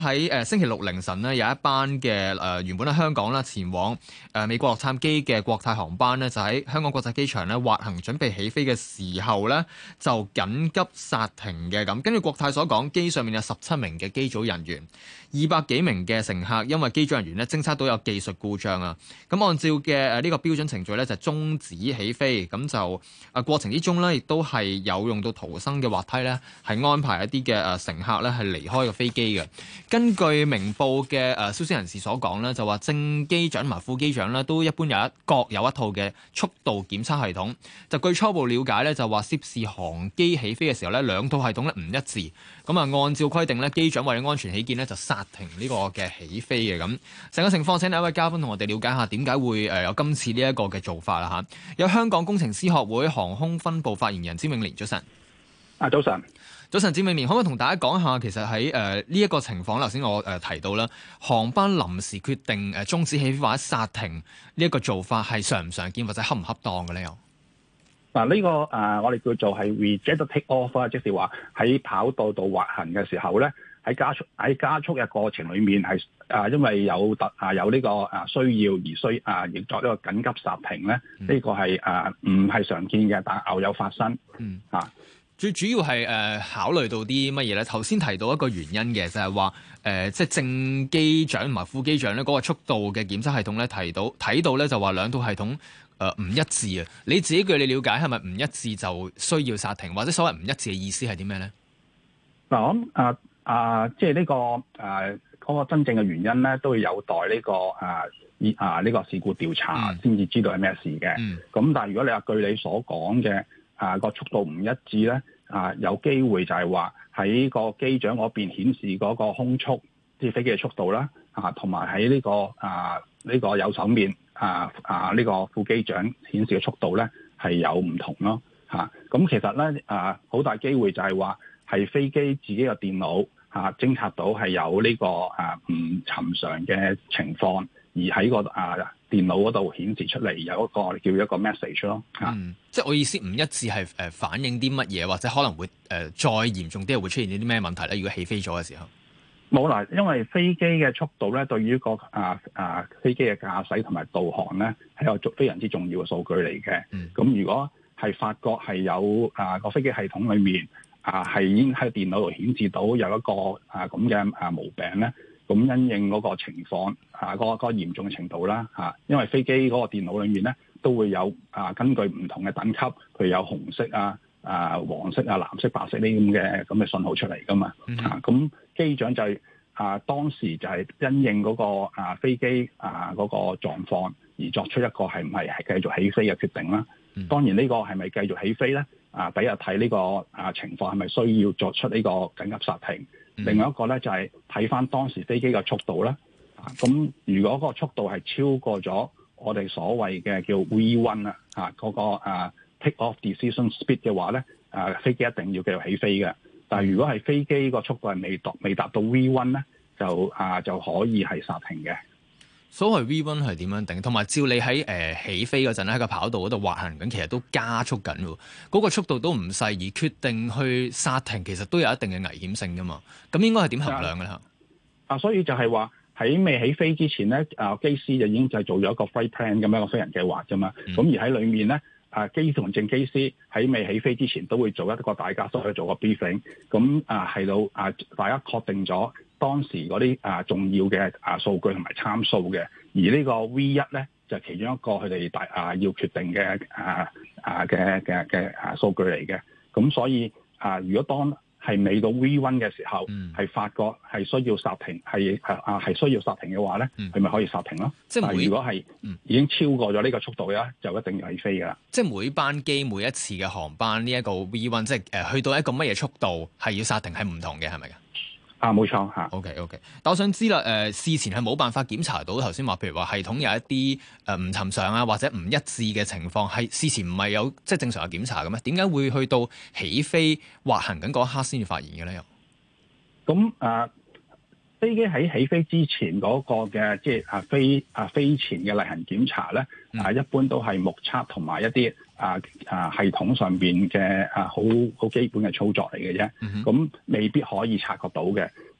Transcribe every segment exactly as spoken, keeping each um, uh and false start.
喺誒星期六凌晨呢，有一班嘅誒、呃、原本喺香港啦前往誒、呃、美國洛杉磯嘅國泰航班呢，就喺香港國際機場呢滑行準備起飛嘅時候呢，就緊急剎停嘅。咁根據國泰所講，機上面有十七名嘅機組人員，二百幾名嘅乘客，因為機組人員呢偵測到有技術故障啊。咁按照嘅誒呢個標準程序呢，就終止起飛。咁就啊過程之中呢，亦都係有用到逃生嘅滑梯呢，係安排一啲嘅誒乘客呢係離開個飛機嘅。根據明報嘅誒消息人士所講咧，就話正機長同埋副機長咧都一般有一各有一套嘅速度檢測系統。就據初步了解咧，就話涉事航機起飛嘅時候咧，兩套系統咧唔一致。咁啊，按照規定咧，機長為咗安全起見咧，就剎停呢個嘅起飛嘅。咁成個情況，請另一位嘉賓同我哋了解下點解會誒有今次呢一個嘅做法啦嚇。有香港工程師學會航空分部發言人詹永年，早晨。 啊，早晨。 早晨，詹永年，可唔可以同大家講下，其實喺誒呢一個情況，頭先我誒、呃、提到啦，航班臨時決定誒終止起飛或者剎停呢一個做法係常唔常見或者恰唔恰當嘅咧？又嗱，呢個誒、呃、我哋叫做係 reject take off 啊，即係話喺跑道度滑行嘅時候咧，喺加速喺加速嘅過程裏面係啊、呃，因為有特啊有呢個啊需要而需啊，亦作呢個緊急剎停咧，呢、嗯這個係誒唔係常見嘅，但係偶有發生。嗯啊。 最主要係誒、呃、考慮到啲乜嘢咧？頭先提到一個原因嘅，就係話誒即係正機長同埋副機長咧嗰個速度嘅檢測系統咧提到睇到咧就話兩套系統誒唔、呃、一致啊！你自己據你了解係咪唔一致就需要剎停，或者所謂唔一致嘅意思係啲咩咧？ 嗱，我諗啊啊，即係呢個誒嗰、啊那個真正嘅原因咧，都要有待呢、這個啊啊呢、這個事故調查先至知道係咩事嘅。咁、嗯、但係如果你話據你所講嘅。啊，個速度唔一致咧，啊有機會就係話喺個機長嗰邊顯示嗰個空速，即係飛機嘅速度啦，啊同埋喺呢個啊呢、呢個右手面啊啊呢、呢個副機長顯示嘅速度咧係有唔同咯，嚇、啊、咁其實咧啊好大機會就係話係飛機自己嘅電腦啊偵察到係有呢、呢個啊唔尋常嘅情況，而喺個啊電腦嗰度顯示出嚟有一個叫一個 message 咯，嚇、 嗯，即係我意思唔一致係誒反映啲乜嘢，或者可能會誒、呃、再嚴重啲，會出現啲咩問題咧？如果起飛咗嘅時候， 冇啦，因為飛機嘅速度咧，對於個啊啊飛機嘅駕駛同埋導航咧，係一個非常之重要嘅數據嚟嘅。咁、嗯、如果係發覺係有啊個飛機系統裏面啊係已經喺電腦度顯示到有一個啊咁嘅啊毛病咧。咁因應嗰個情況啊，嗰、嗰個、嗰個嚴重嘅程度啦嚇，因為飛機嗰個電腦裏面咧都會有啊，根據唔同嘅等級，譬如有紅色啊、啊黃色啊、藍色、白色呢咁嘅咁嘅信號出嚟噶嘛、mm-hmm. 啊，咁機長就係、是、啊當時就係因應嗰個啊飛機啊嗰個狀況而作出一個係唔係係繼續起飛嘅決定啦。Mm-hmm. 當然呢個係咪繼續起飛咧？啊，第一日睇呢個啊情況係咪需要作出呢個緊急剎停？另外一個咧就係睇翻當時飛機嘅速度啦，咁、啊、如果個速度係超過咗我哋所謂嘅叫 V 一 啊，嗰、那個啊 take off decision speed 嘅話咧，啊飛機一定要繼續起飛嘅。但係如果係飛機個速度係未達未達到 V 一 咧，就啊就可以係剎停嘅。 所謂 V 一 係點樣定？同埋照你喺誒、呃、起飛嗰陣咧，喺個跑道嗰度滑行緊，其實都加速緊喎。嗰、那個速度都唔細，而決定去剎停，其實都有一定嘅危險性噶嘛。咁應該係點衡量嘅咧？ 啊，所以就係話喺未起飛之前咧，啊機師就已經就係做咗一個 flight plan 咁樣嘅飛行計劃啫嘛。咁、嗯、而喺裡面咧，啊機師同正機師喺未起飛之前都會做一個大家都去做個 briefing。咁啊係到啊大家確定咗當時嗰啲啊重要嘅啊數據同埋參數嘅，而呢個 V 一咧就係其中一個佢哋大啊要決定嘅啊啊嘅嘅嘅啊數據嚟嘅。咁所以啊，如果當係未到 V 一 嘅時候，係、嗯、發覺係需要剎停，係啊係需要剎停嘅話咧，佢、嗯、咪可以剎停咯。即係每如果係已經超過咗呢個速度咧，就一定要起飛噶啦。 即係每班機每一次嘅航班呢一個 V 一，即係誒去到一個乜嘢速度係要剎停係唔同嘅，係咪㗎？ 啊，冇錯嚇。 OK OK，但我想知啦，誒、呃、事前係冇辦法檢查到頭先話，譬如話系統有一啲誒唔尋常啊，或者唔一致嘅情況，係事前唔係有即係正常嘅檢查嘅咩？點解會去到起飛滑行緊嗰一刻先至發現嘅咧？又咁啊，飛機喺起飛之前嗰個嘅即係啊飛啊飛前嘅例行檢查咧，啊、嗯、一般都係目測同埋一啲啊啊系統上邊嘅啊好好基本嘅操作嚟嘅啫，咁、嗯、未必可以察覺到嘅。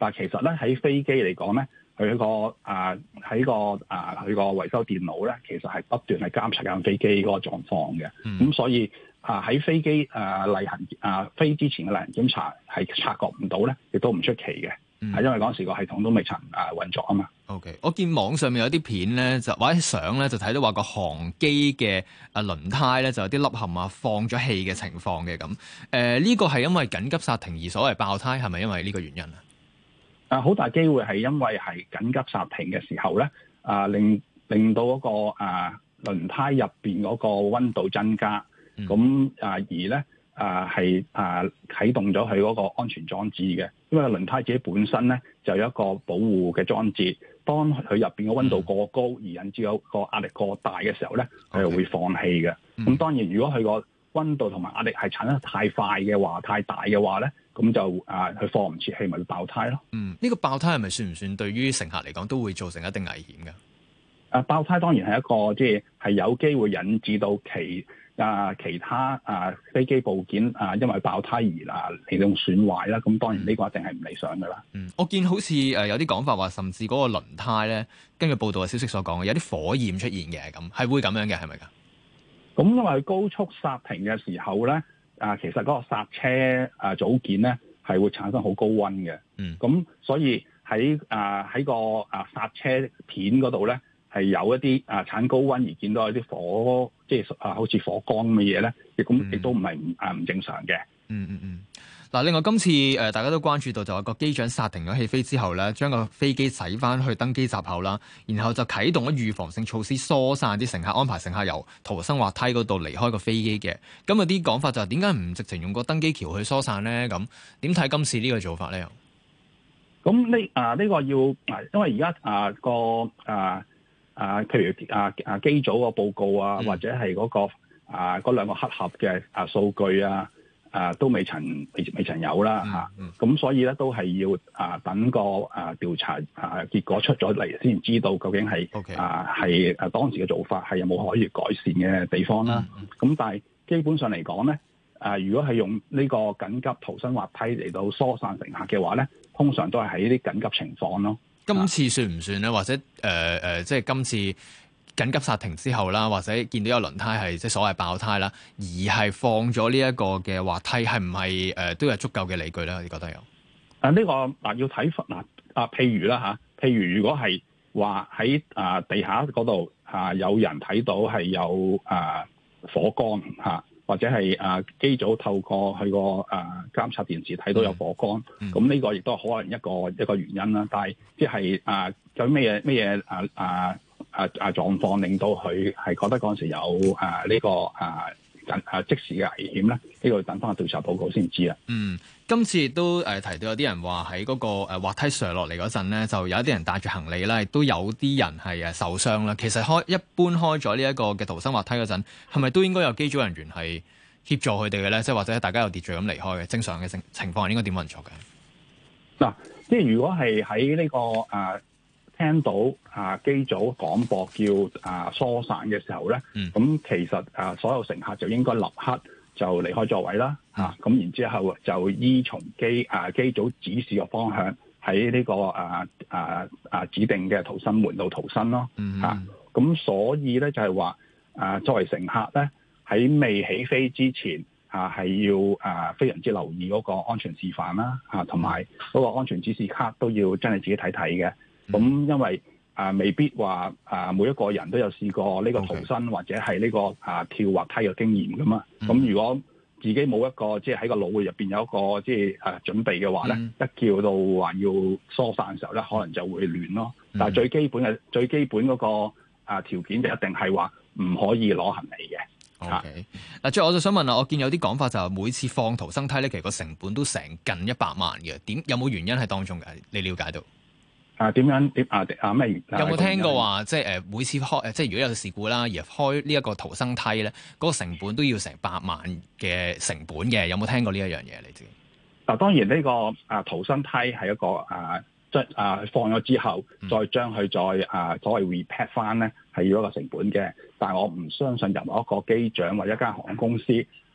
但係其實咧喺飛機嚟講咧，佢個啊喺個啊佢個維修電腦咧，其實係不斷係監察緊飛機嗰個狀況嘅。咁、嗯、所以啊喺飛機啊例行啊飛之前嘅例行檢查係察覺唔到咧，亦都唔出奇嘅。係、嗯、因為嗰陣時個系統都未曾啊運作啊嘛。 O.K. 我見網上面有啲片咧，就或者相咧，就睇到話個航機嘅啊輪胎咧就有啲凹陷啊、放咗氣嘅情況嘅咁。誒呢、呃這個係因為緊急剎停而所謂爆胎，係咪因為呢個原因啊？ 啊，好大機會係因為係緊急剎停嘅時候咧，啊令令到嗰、那個啊輪胎入邊嗰個溫度增加，咁、嗯、啊而咧啊係啊啟動咗佢嗰個安全裝置嘅，因為輪胎自己本身咧就有一個保護嘅裝置。當佢入邊嘅溫度過高而引致有個壓力過大嘅時候咧，佢就會放氣嘅。咁、嗯、當然，如果佢個溫度同埋壓力係產生得太快嘅話、太大嘅話咧，咁就啊佢放唔切氣，咪會爆胎咯。嗯， 呢、這個爆胎係咪算唔算對於乘客嚟講都會造成一定危險嘅？ 啊，爆胎當然係一個即係係有機會引致到其啊其他啊飛機部件啊因為爆胎而啊嚟到損壞啦。咁當然呢個一定係唔理想噶啦。 嗯，我見好似誒有啲講法話，甚至嗰個輪胎咧，根據報道嘅消息所講嘅，有啲火焰出現嘅，咁係會咁樣嘅，係咪噶？ 咁因為高速剎停嘅時候咧，啊其實嗰個剎車啊組件咧係會產生好高溫嘅。嗯，咁所以喺啊喺個啊剎車片嗰度咧，係有一啲啊產高溫而見到有啲火，即係啊好似火光咁嘅嘢咧，亦咁亦都唔係唔啊唔正常嘅。 嗯嗯嗯。嗱，另外今次誒、呃、大家都關注到就係個機長剎停咗起飛之後咧，將個飛機駛翻去登機閘口啦，然後就啟動咗預防性措施，疏散啲乘客，安排乘客由逃生滑梯嗰度離開個飛機嘅。咁有啲講法就係點解唔直情用個登機橋去疏散咧？咁點睇今次呢個做法咧？ 咁呢啊呢、呢個要啊，因為而家啊個啊啊譬如啊啊機組個報告啊，嗯、或者係嗰、嗰個啊嗰兩個黑盒嘅啊數據啊。啊，都未曾未未曾有啦嚇，咁、嗯嗯啊、所以咧都係要啊等個啊調查啊結果出咗嚟先知道究竟係 Okay. 啊係啊當時嘅做法係有冇可以改善嘅地方啦。咁、嗯嗯、但係基本上嚟講咧，啊如果係用呢個緊急逃生滑梯嚟到疏散乘客嘅話咧，通常都係喺呢啲緊急情況咯。 今次算唔算咧？或者誒誒、呃呃，即係今次緊急剎停之後啦，或者見到有輪胎係即係所謂爆胎啦，而係放咗呢一個嘅滑梯，係唔係誒都有足夠嘅理據咧？你覺得有？ 啊呢、這個嗱、啊、要睇嗱啊，譬如啦嚇、啊，譬如如果係話喺啊地下嗰度啊有人睇到係有啊火光嚇、啊，或者係啊機組透過佢個啊監察電視睇到有火光，咁呢、嗯、個亦都可能一個一個原因啦。但係即係啊有咩嘢咩嘢啊啊？啊啊狀況令到佢係覺得嗰陣時有啊呢、這個啊啊即時嘅危險咧，呢、這個要等翻個調查報告先知啦。 嗯，今次亦都誒提到有啲人話喺嗰個誒滑梯上落嚟嗰陣咧，就有一啲人帶住行李啦，亦都有啲人係誒受傷啦。其實開一般開咗呢一個嘅逃生滑梯嗰陣，係咪都應該有機組人員係協助佢哋嘅咧？即係或者大家有秩序咁離開嘅正常嘅情情況係應該點運作嘅？ 嗱，即係如果係喺呢個啊。聽到啊機組廣播叫啊疏散嘅時候咧，咁、嗯、其實啊所有乘客就應該立刻就離開座位啦，嚇、嗯！咁、啊、然之後就依從機啊機組指示嘅方向喺呢、這個啊啊啊指定嘅逃生門度逃生咯，嚇、嗯！咁、啊、所以咧就係話啊作為乘客咧喺未起飛之前啊係要啊非常之留意嗰個安全示範啦，嚇同埋嗰個安全指示卡都要真係自己睇睇嘅。咁、嗯、因為啊、呃，未必話啊、呃，每一個人都有試過呢個逃生 Okay. 或者係呢、這個啊、呃、跳滑梯嘅經驗噶嘛。咁、嗯、如果自己冇一個即係喺個腦入邊有一個即係啊準備嘅話咧，嗯、一叫到話要疏散嘅時候咧，可能就會亂咯。嗯、但係最基本嘅最基本嗰、那個啊、呃、條件就一定係話唔可以攞行李嘅。 OK，嗱，最後我就想問啦，我見有啲講法就係每次放逃生梯咧，其實個成本都成近一百萬嘅。點有冇原因喺當中嘅？你了解到？ 啊點樣點啊啊咩？有冇聽過話即係誒每次開誒即係如果有事故啦，而開呢一個逃生梯咧，嗰、那個成本都要成百萬嘅成本嘅，有冇聽過呢一樣嘢你知？ 嗱當然呢、這個啊逃生梯係一個啊即係啊放咗之後，嗯、再將佢再啊所謂 repair 翻咧係要一個成本嘅，但係我唔相信任何一個機長或者一間航空公司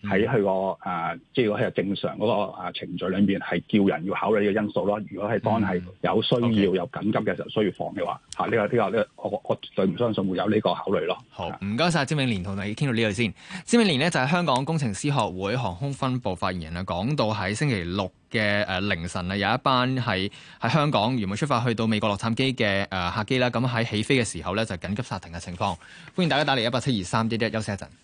喺佢個誒，即係如果係正常嗰個啊程序裏面係叫人要考慮呢個因素咯。如果係當係有需要、嗯 okay. 有緊急嘅時候需要放嘅話，嚇、啊、呢、呢個呢、呢個呢我我絕對唔相信會有呢個考慮咯。 好，唔該晒，詹永年同你傾到呢度先。詹永年呢就係香港工程師學會航空分部發言人啦，講到喺星期六嘅誒凌晨啊，有一班係喺香港原本出發去到美國洛杉磯嘅誒客機啦，咁喺起飛嘅時候咧就緊急剎停嘅情況。歡迎大家打嚟一八七二三一一，休息一陣。